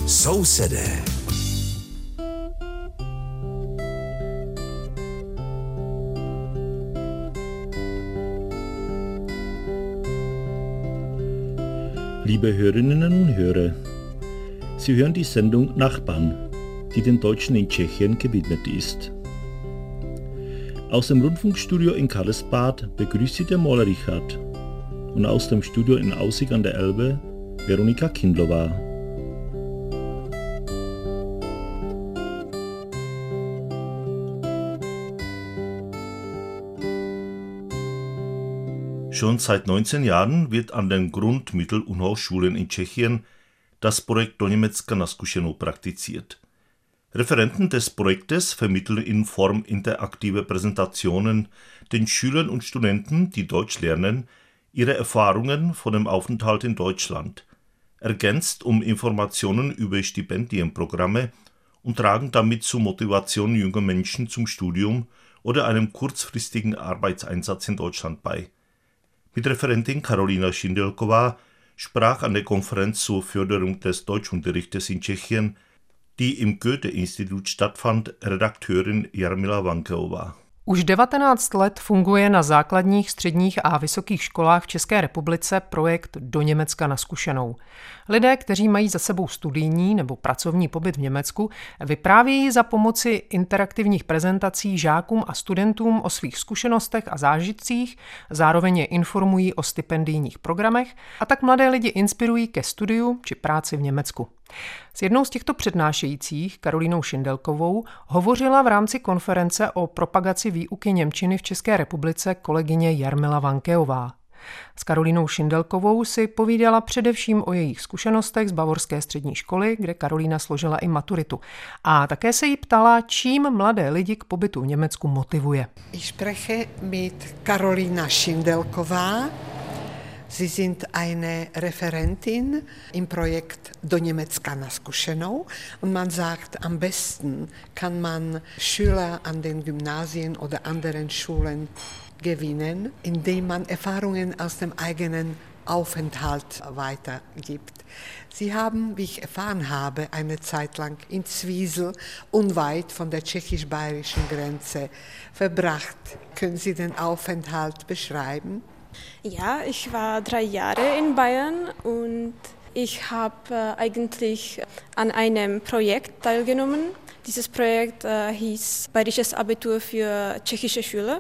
Sousedé. Liebe Hörerinnen und Hörer, Sie hören die Sendung Nachbarn, die den Deutschen in Tschechien gewidmet ist. Aus dem Rundfunkstudio in Karlsbad begrüßt Sie der Maler Richard und aus dem Studio in Aussig an der Elbe Veronika Kindlová. Schon seit 19 Jahren wird an den Grund-, Mittel- und Hochschulen in Tschechien das Projekt Do Německa na zkušenou praktiziert. Referenten des Projektes vermitteln in Form interaktiver Präsentationen den Schülern und Studenten, die Deutsch lernen, ihre Erfahrungen von dem Aufenthalt in Deutschland, ergänzt um Informationen über Stipendienprogramme und tragen damit zur Motivation junger Menschen zum Studium oder einem kurzfristigen Arbeitseinsatz in Deutschland bei. Mit Referentin Karolina Šindelková sprach an der Konferenz zur Förderung des Deutschunterrichtes in Tschechien, die im Goethe-Institut stattfand, Redakteurin Jarmila Vankeová. Už 19 let funguje na základních, středních a vysokých školách v České republice projekt Do Německa na zkušenou. Lidé, kteří mají za sebou studijní nebo pracovní pobyt v Německu, vyprávějí za pomoci interaktivních prezentací žákům a studentům o svých zkušenostech a zážitcích, zároveň je informují o stipendijních programech a tak mladé lidi inspirují ke studiu či práci v Německu. S jednou z těchto přednášejících, Karolínou Šindelkovou, hovořila v rámci konference o propagaci výuky němčiny v České republice kolegyně Jarmila Vankeová. S Karolínou Šindelkovou si povídala především o jejich zkušenostech z Bavorské střední školy, kde Karolína složila i maturitu. A také se jí ptala, čím mladé lidi k pobytu v Německu motivuje. Ich spreche mit Karolina Šindelková. Sie sind eine Referentin im Projekt Do Německa na zkušenou und man sagt, am besten kann man Schüler an den Gymnasien oder anderen Schulen gewinnen, indem man Erfahrungen aus dem eigenen Aufenthalt weitergibt. Sie haben, wie ich erfahren habe, eine Zeit lang in Zwiesel, unweit von der tschechisch-bayerischen Grenze, verbracht. Können Sie den Aufenthalt beschreiben? Ja, ich war 3 Jahre in Bayern und ich habe eigentlich an einem Projekt teilgenommen. Dieses Projekt hieß Bayerisches Abitur für tschechische Schüler.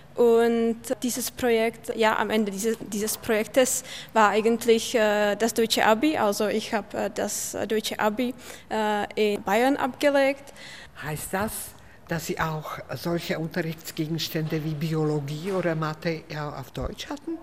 Und dieses Projekt, ja, am Ende dieses Projektes war eigentlich das deutsche Abi. Also ich habe das deutsche Abi in Bayern abgelegt. Heißt das, dass Sie auch solche Unterrichtsgegenstände wie Biologie oder Mathe ja auf Deutsch hatten?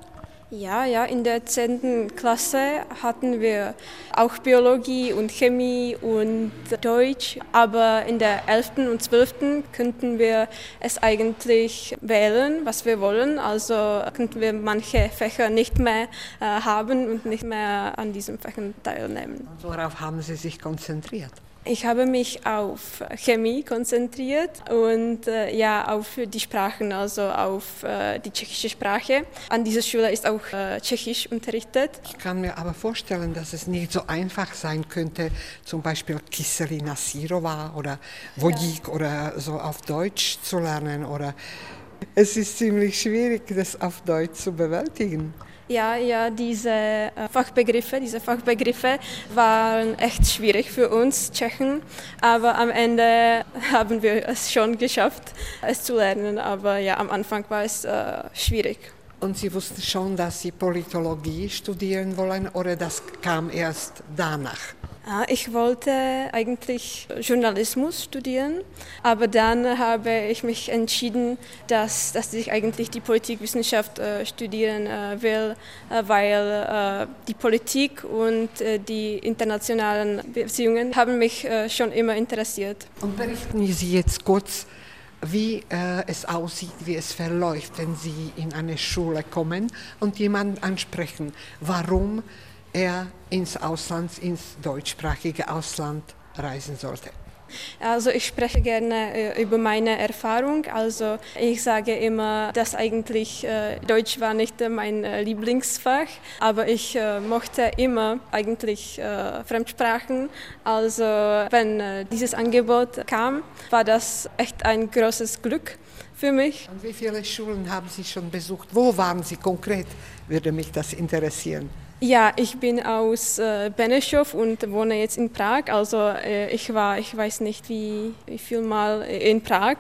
Ja, in der 10. Klasse hatten wir auch Biologie und Chemie und Deutsch, aber in der 11. und 12. könnten wir es eigentlich wählen, was wir wollen, also könnten wir manche Fächer nicht mehr haben und nicht mehr an diesen Fächern teilnehmen. Und worauf haben Sie sich konzentriert? Ich habe mich auf Chemie konzentriert und auf die Sprachen, also auf die tschechische Sprache. An dieser Schule ist auch Tschechisch unterrichtet. Ich kann mir aber vorstellen, dass es nicht so einfach sein könnte, zum Beispiel Kyselina Sírova oder Vodík oder so auf Deutsch zu lernen. Oder es ist ziemlich schwierig, das auf Deutsch zu bewältigen. Ja, diese Fachbegriffe waren echt schwierig für uns Tschechen, aber am Ende haben wir es schon geschafft, es zu lernen, aber ja, am Anfang war es schwierig. Und Sie wussten schon, dass Sie Politologie studieren wollen, oder das kam erst danach? Ich wollte eigentlich Journalismus studieren, aber dann habe ich mich entschieden, dass ich eigentlich die Politikwissenschaft studieren will, weil die Politik und die internationalen Beziehungen haben mich schon immer interessiert. Und berichten Sie jetzt kurz, wie es aussieht, wie es verläuft, wenn Sie in eine Schule kommen und jemanden ansprechen, warum ins Ausland, ins deutschsprachige Ausland reisen sollte. Also ich spreche gerne über meine Erfahrung. Also ich sage immer, dass eigentlich Deutsch war nicht mein Lieblingsfach, aber ich mochte immer eigentlich Fremdsprachen. Also wenn dieses Angebot kam, war das echt ein großes Glück für mich. Und wie viele Schulen haben Sie schon besucht? Wo waren Sie konkret? Würde mich das interessieren. Ja, ich bin aus Benešov und wohne jetzt in Prag. Also ich weiß nicht wie viel Mal in Prag,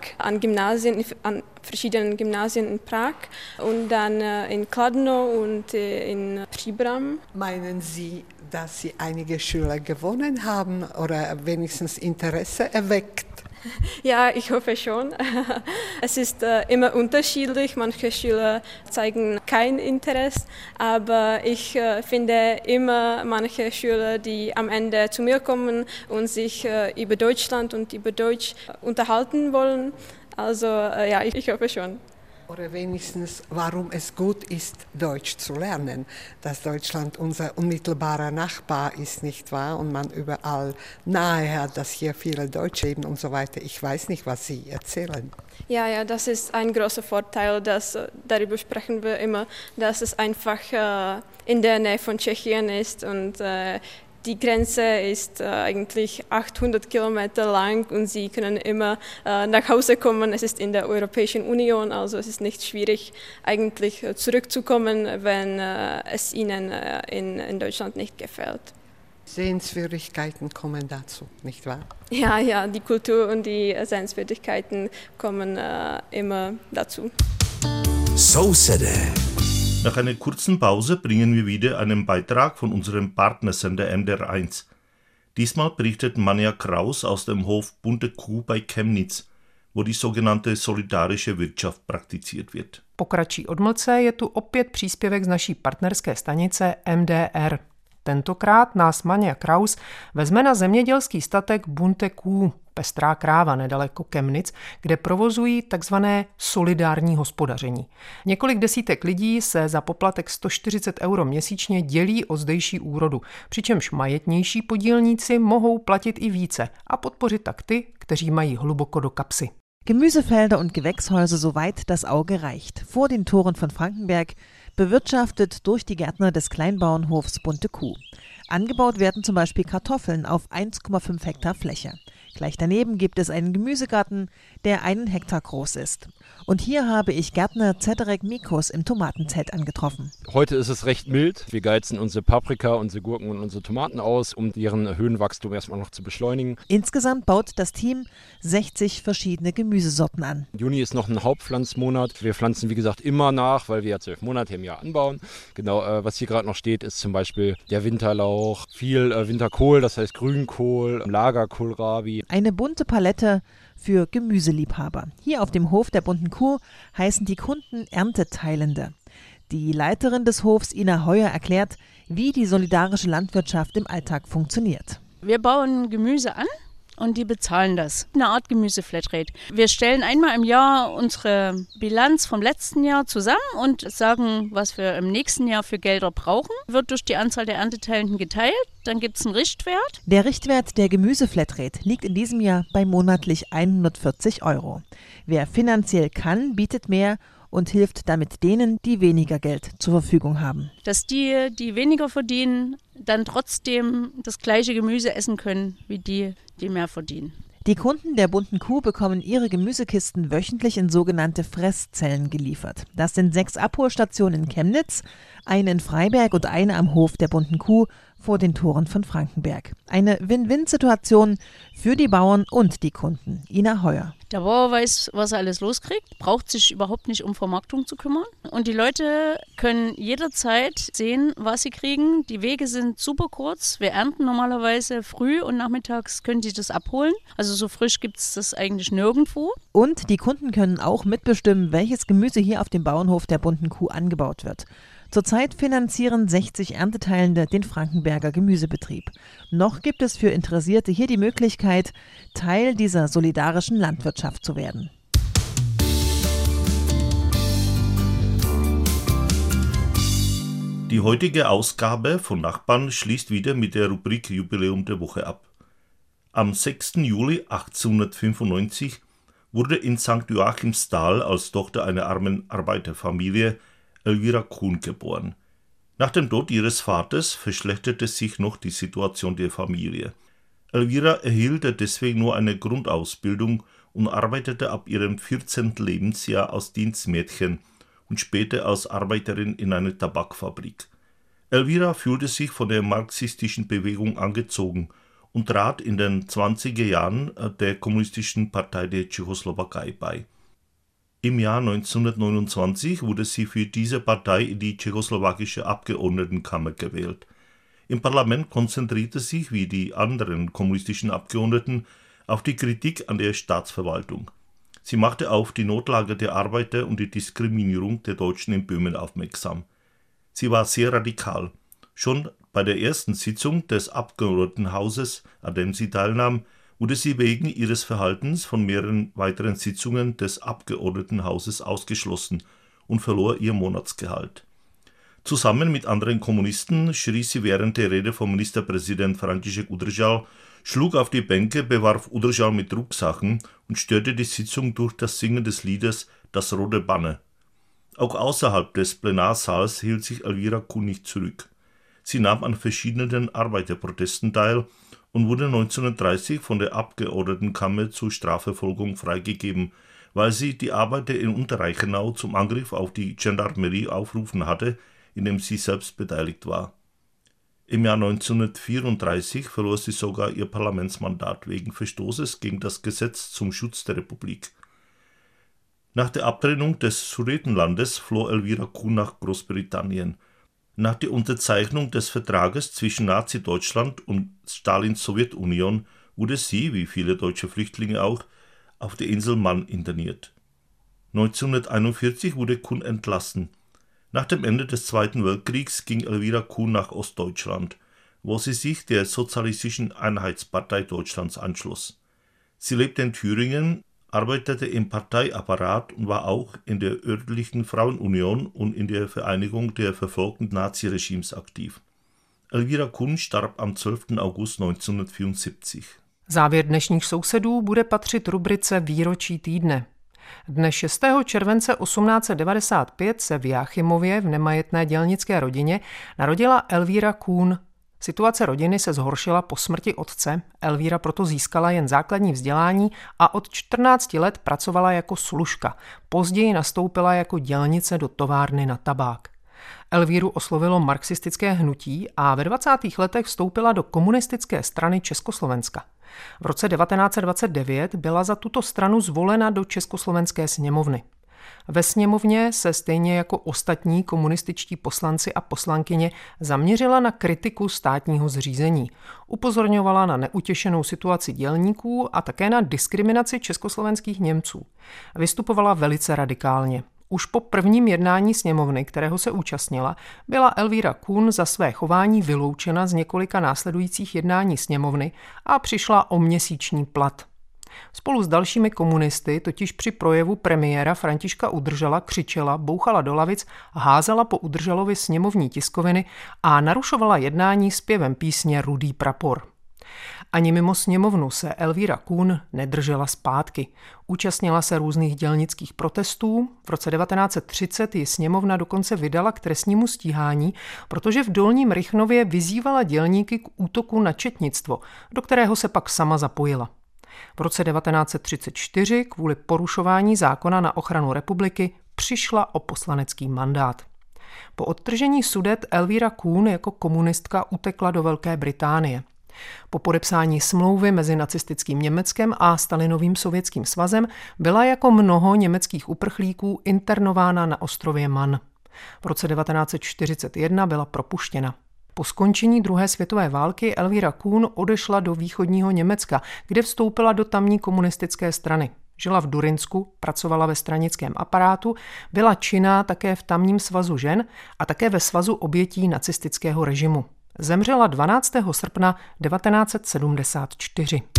an verschiedenen Gymnasien in Prag und dann in Kladno und in Příbram. Meinen Sie, dass Sie einige Schüler gewonnen haben oder wenigstens Interesse erweckt? Ja, ich hoffe schon. Es ist immer unterschiedlich. Manche Schüler zeigen kein Interesse, aber ich finde immer manche Schüler, die am Ende zu mir kommen und sich über Deutschland und über Deutsch unterhalten wollen. Also ja, ich hoffe schon. Oder wenigstens, warum es gut ist, Deutsch zu lernen. Dass Deutschland unser unmittelbarer Nachbar ist, nicht wahr? Und man überall nahe hat, dass hier viele Deutsche leben und so weiter. Ich weiß nicht, was Sie erzählen. Ja, das ist ein großer Vorteil, darüber sprechen wir immer, dass es einfach in der Nähe von Tschechien ist und die Grenze ist eigentlich 800 Kilometer lang und Sie können immer nach Hause kommen. Es ist in der Europäischen Union, also es ist nicht schwierig, eigentlich zurückzukommen, wenn es Ihnen in Deutschland nicht gefällt. Sehenswürdigkeiten kommen dazu, nicht wahr? Ja, die Kultur und die Sehenswürdigkeiten kommen immer dazu. So said it. Nach einer kurzen Pause bringen wir wieder einen Beitrag von unserem Partnersender MDR1. Diesmal berichtet Manja Kraus aus dem Hof Bunte Kuh bei Chemnitz, wo die sogenannte solidarische Wirtschaft praktiziert wird. Po kratší odmlce je tu opět příspěvek z naší partnerské stanice MDR. Tentokrát nás Manja Kraus vezme na zemědělský statek Bunte Kuh, Pestrá kráva nedaleko Chemnitz, kde provozují takzvané solidární hospodaření. Několik desítek lidí se za poplatek 140 € měsíčně dělí o zdejší úrodu, přičemž majetnější podílníci mohou platit i více a podpořit tak ty, kteří mají hluboko do kapsy. Gemüsefelder und Gewächshäuser soweit das Auge reicht. Vor den Toren von Frankenberg, bewirtschaftet durch die Gärtner des Kleinbauernhofs Bunte Kuh. Angebaut werden zum Beispiel Kartoffeln auf 1,5 Hektar Fläche. Gleich daneben gibt es einen Gemüsegarten, der 1 Hektar groß ist. Und hier habe ich Gärtner Cedrek Mikos im Tomatenzelt angetroffen. Heute ist es recht mild. Wir geizen unsere Paprika, unsere Gurken und unsere Tomaten aus, um deren Höhenwachstum erstmal noch zu beschleunigen. Insgesamt baut das Team 60 verschiedene Gemüsesorten an. Juni ist noch ein Hauptpflanzmonat. Wir pflanzen, wie gesagt, immer nach, weil wir ja 12 Monate im Jahr anbauen. Genau, was hier gerade noch steht, ist zum Beispiel der Winterlauch, viel Winterkohl, das heißt Grünkohl, Lagerkohlrabi. Eine bunte Palette für Gemüseliebhaber. Hier auf dem Hof der Bunten Kuh heißen die Kunden Ernteteilende. Die Leiterin des Hofs, Ina Heuer, erklärt, wie die solidarische Landwirtschaft im Alltag funktioniert. Wir bauen Gemüse an und die bezahlen das. Eine Art Gemüseflatrate. Wir stellen einmal im Jahr unsere Bilanz vom letzten Jahr zusammen und sagen, was wir im nächsten Jahr für Gelder brauchen. Wird durch die Anzahl der Ernteteilenden geteilt. Dann gibt es einen Richtwert. Der Richtwert der Gemüseflatrate liegt in diesem Jahr bei monatlich 140 €. Wer finanziell kann, bietet mehr und hilft damit denen, die weniger Geld zur Verfügung haben. Dass die weniger verdienen, dann trotzdem das gleiche Gemüse essen können wie die mehr verdienen. Die Kunden der Bunten Kuh bekommen ihre Gemüsekisten wöchentlich in sogenannte Fresszellen geliefert. Das sind 6 Abholstationen in Chemnitz, eine in Freiberg und eine am Hof der Bunten Kuh vor den Toren von Frankenberg. Eine Win-Win-Situation für die Bauern und die Kunden. Ina Heuer. Der Bauer weiß, was er alles loskriegt, braucht sich überhaupt nicht um Vermarktung zu kümmern. Und die Leute können jederzeit sehen, was sie kriegen. Die Wege sind super kurz. Wir ernten normalerweise früh und nachmittags können sie das abholen. Also so frisch gibt es das eigentlich nirgendwo. Und die Kunden können auch mitbestimmen, welches Gemüse hier auf dem Bauernhof der Bunten Kuh angebaut wird. Zurzeit finanzieren 60 Ernteteilende den Frankenberger Gemüsebetrieb. Noch gibt es für Interessierte hier die Möglichkeit, Teil dieser solidarischen Landwirtschaft zu werden. Die heutige Ausgabe von Nachbarn schließt wieder mit der Rubrik Jubiläum der Woche ab. Am 6. Juli 1895 wurde in St. Joachimsthal als Tochter einer armen Arbeiterfamilie Elvira Kuhn geboren. Nach dem Tod ihres Vaters verschlechterte sich noch die Situation der Familie. Elvira erhielt deswegen nur eine Grundausbildung und arbeitete ab ihrem 14. Lebensjahr als Dienstmädchen und später als Arbeiterin in einer Tabakfabrik. Elvira fühlte sich von der marxistischen Bewegung angezogen und trat in den 20er Jahren der Kommunistischen Partei der Tschechoslowakei bei. Im Jahr 1929 wurde sie für diese Partei in die tschechoslowakische Abgeordnetenkammer gewählt. Im Parlament konzentrierte sich, wie die anderen kommunistischen Abgeordneten, auf die Kritik an der Staatsverwaltung. Sie machte auf die Notlage der Arbeiter und die Diskriminierung der Deutschen in Böhmen aufmerksam. Sie war sehr radikal. Schon bei der ersten Sitzung des Abgeordnetenhauses, an dem sie teilnahm, wurde sie wegen ihres Verhaltens von mehreren weiteren Sitzungen des Abgeordnetenhauses ausgeschlossen und verlor ihr Monatsgehalt. Zusammen mit anderen Kommunisten schrie sie während der Rede vom Ministerpräsident František Udržal, schlug auf die Bänke, bewarf Udržal mit Drucksachen und störte die Sitzung durch das Singen des Liedes »Das rote Banner«. Auch außerhalb des Plenarsaals hielt sich Elvira Kuhn nicht zurück. Sie nahm an verschiedenen Arbeiterprotesten teil und wurde 1930 von der Abgeordnetenkammer zur Strafverfolgung freigegeben, weil sie die Arbeiter in Unterreichenau zum Angriff auf die Gendarmerie aufgerufen hatte, in dem sie selbst beteiligt war. Im Jahr 1934 verlor sie sogar ihr Parlamentsmandat wegen Verstoßes gegen das Gesetz zum Schutz der Republik. Nach der Abtrennung des Sudetenlandes floh Elvira Kuhn nach Großbritannien. Nach der Unterzeichnung des Vertrages zwischen Nazi-Deutschland und Stalins Sowjetunion wurde sie, wie viele deutsche Flüchtlinge auch, auf der Insel Mann interniert. 1941 wurde Kuhn entlassen. Nach dem Ende des Zweiten Weltkriegs ging Elvira Kuhn nach Ostdeutschland, wo sie sich der Sozialistischen Einheitspartei Deutschlands anschloss. Sie lebte in Thüringen, arbeitete im Parteiapparat und war auch in der örtlichen Frauenunion und in der Vereinigung der verfolgten Naziregimes aktiv. Elvira Kuhn starb am 12. August 1974. Závěr dnešních sousedů bude patřit rubrice Výročí týdne. Dne 6. července 1895 se v Jáchymově v nemajetné dělnické rodině narodila Elvira Kuhn. Situace rodiny se zhoršila po smrti otce, Elvira proto získala jen základní vzdělání a od 14 let pracovala jako služka. Později nastoupila jako dělnice do továrny na tabák. Elvíru oslovilo marxistické hnutí a ve 20. letech vstoupila do komunistické strany Československa. V roce 1929 byla za tuto stranu zvolena do Československé sněmovny. Ve sněmovně se stejně jako ostatní komunističtí poslanci a poslankyně zaměřila na kritiku státního zřízení. Upozorňovala na neutěšenou situaci dělníků a také na diskriminaci československých Němců. Vystupovala velice radikálně. Už po prvním jednání sněmovny, kterého se účastnila, byla Elvira Kuhn za své chování vyloučena z několika následujících jednání sněmovny a přišla o měsíční plat. Spolu s dalšími komunisty totiž při projevu premiéra Františka Udržala křičela, bouchala do lavic, házela po Udržalovi sněmovní tiskoviny a narušovala jednání zpěvem písně Rudý prapor. Ani mimo sněmovnu se Elvira Kuhn nedržela zpátky. Účastnila se různých dělnických protestů. V roce 1930 ji sněmovna dokonce vydala k trestnímu stíhání, protože v Dolním Rychnově vyzývala dělníky k útoku na četnictvo, do kterého se pak sama zapojila. V roce 1934 kvůli porušování zákona na ochranu republiky přišla o poslanecký mandát. Po odtržení Sudet Elvira Kuhn jako komunistka utekla do Velké Británie. Po podepsání smlouvy mezi nacistickým Německem a Stalinovým Sovětským svazem byla jako mnoho německých uprchlíků internována na ostrově Man. V roce 1941 byla propuštěna. Po skončení druhé světové války Elvira Kuhn odešla do východního Německa, kde vstoupila do tamní komunistické strany. Žila v Durinsku, pracovala ve stranickém aparátu, byla činná také v tamním svazu žen a také ve svazu obětí nacistického režimu. Zemřela 12. srpna 1974.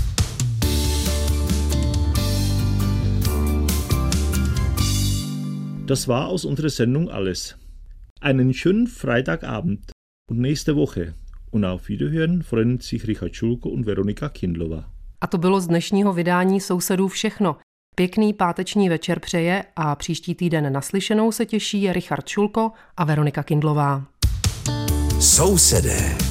Das war aus unserer Sendung alles. Einen schönen Freitagabend und nächste Woche. Und auf Wiederhören freuen sich Richard Schulko und Veronika Kindlova. A to bylo z dnešního vydání Sousedů všechno. Pěkný páteční večer přeje a příští týden naslyšenou se těší Richard Šulko a Veronika Kindlová. Sousedé.